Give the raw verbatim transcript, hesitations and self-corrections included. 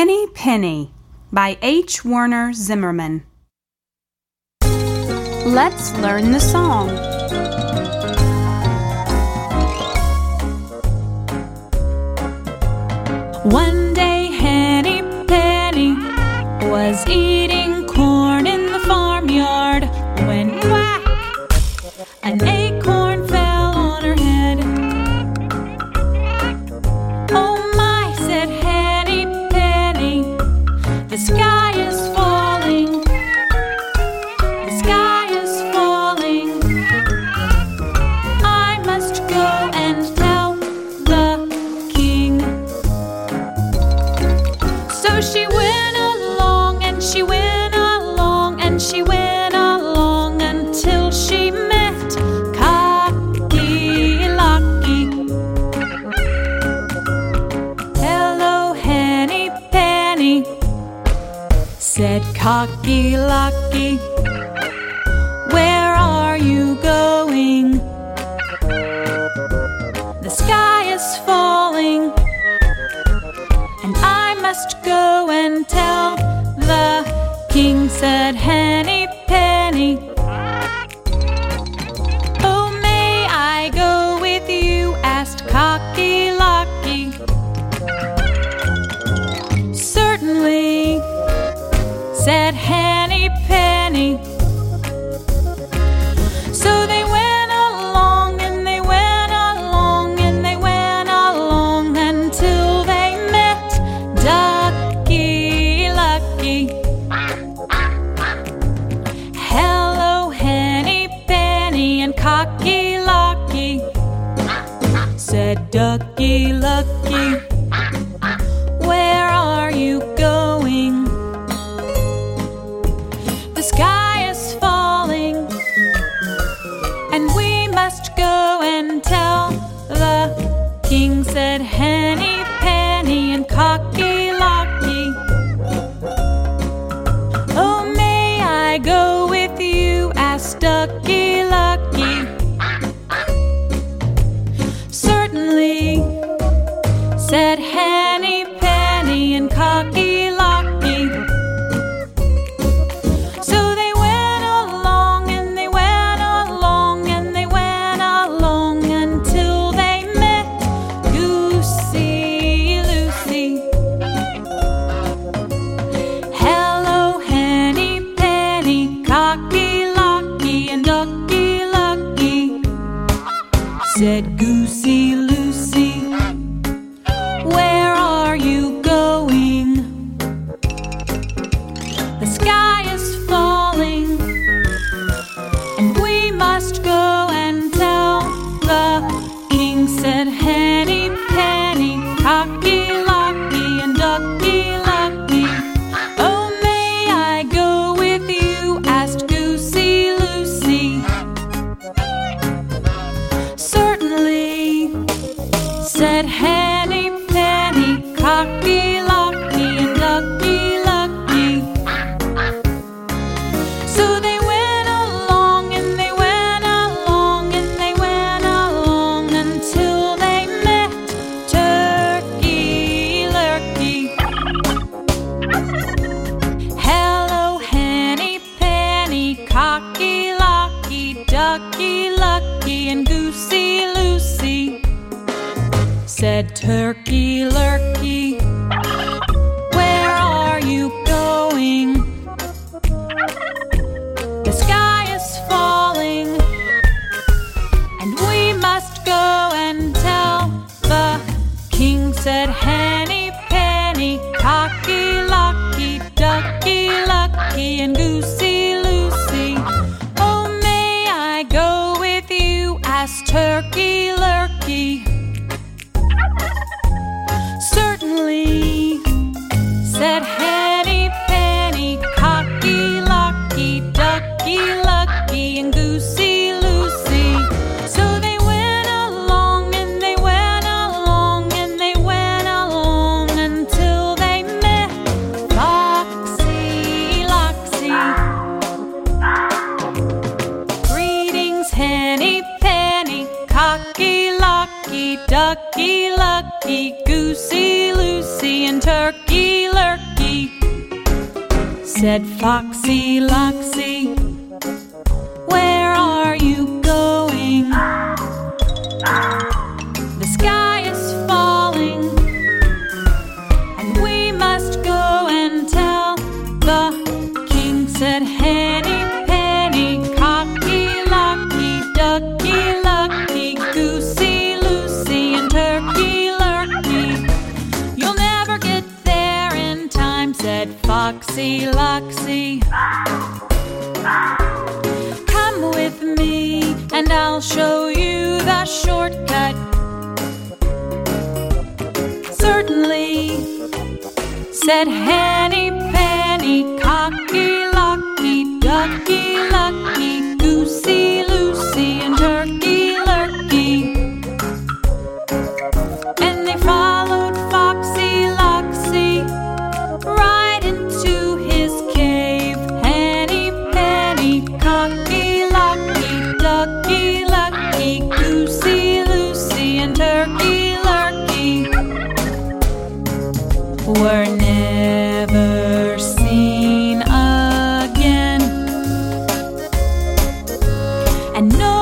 Henny Penny by H. Werner Zimmerman. Let's learn the song. One day Henny Penny was eating corn in the farmyard when whack! An acorn fell on her head. Oh my, said Henny Penny, the sky is falling. The sky is falling. I must go and tell the king. So she went along and she went along and she went along until she met Cocky Locky. Hello, Henny Penny, said Cocky Locky. Where are you going? The sky is falling, and I must go and tell the king, said Henny Penny. Oh, may I go with you? Asked Cocky Locky. Certainly, said Henny Penny. So they went along and they went along and they went along until they met Ducky Lucky. Hello, Henny Penny and Cocky Locky, said Ducky Lucky. Where are you going? The sky is falling, and we must go and tell the king, said Henny Penny and Cocky Locky. Oh, may I go with you? Asked Ducky Lucky. Certainly, said Henny Penny and Cocky Locky. So they went along and they went along and they went along until they met Goosey Lucy. Hello, Henny Penny, Cocky Locky and Ducky Lucky, said Goosey Lucy. Where are you going? The sky is falling, and we must go and tell the king, said Henny Penny, Cocky Locky and Ducky Lucky. Oh, may I go with you? Asked Goosey Lucy. Certainly, said Henny Penny, Cocky Locky and Ducky Lucky. So they went along and they went along and they went along until they met Turkey Lurkey. Hello, Henny Penny, Cocky Locky, Ducky Lucky and Goosey Lucy, said Turkey Lurkey. Where are you going? The sky is falling, and we must go and tell the king, said Henny Penny, Cocky Locky, Ducky Lucky and Goosey Lucy. Oh, may I go with you? Asked Turkey Lurkey. said Foxy Loxy, where are you going? The sky is falling, and we must go and tell the king. Said Henny Penny, Cocky Locky, Ducky Lucky, Goosey Lucy, and Turkey Lurkey. You'll never get there in time, said Foxy Loxy. Come with me and I'll show you the shortcut. Certainly, said Henny Penny, Cocky Locky, Ducky Lucky, Goosey Lucy, and Turkey Lurkey. And they followed Foxy Loxy right into his cave. Henny Penny, Cocky Locky, Ducky Lucky, Goosey Lucy, and Turkey Lurkey were never seen again. And no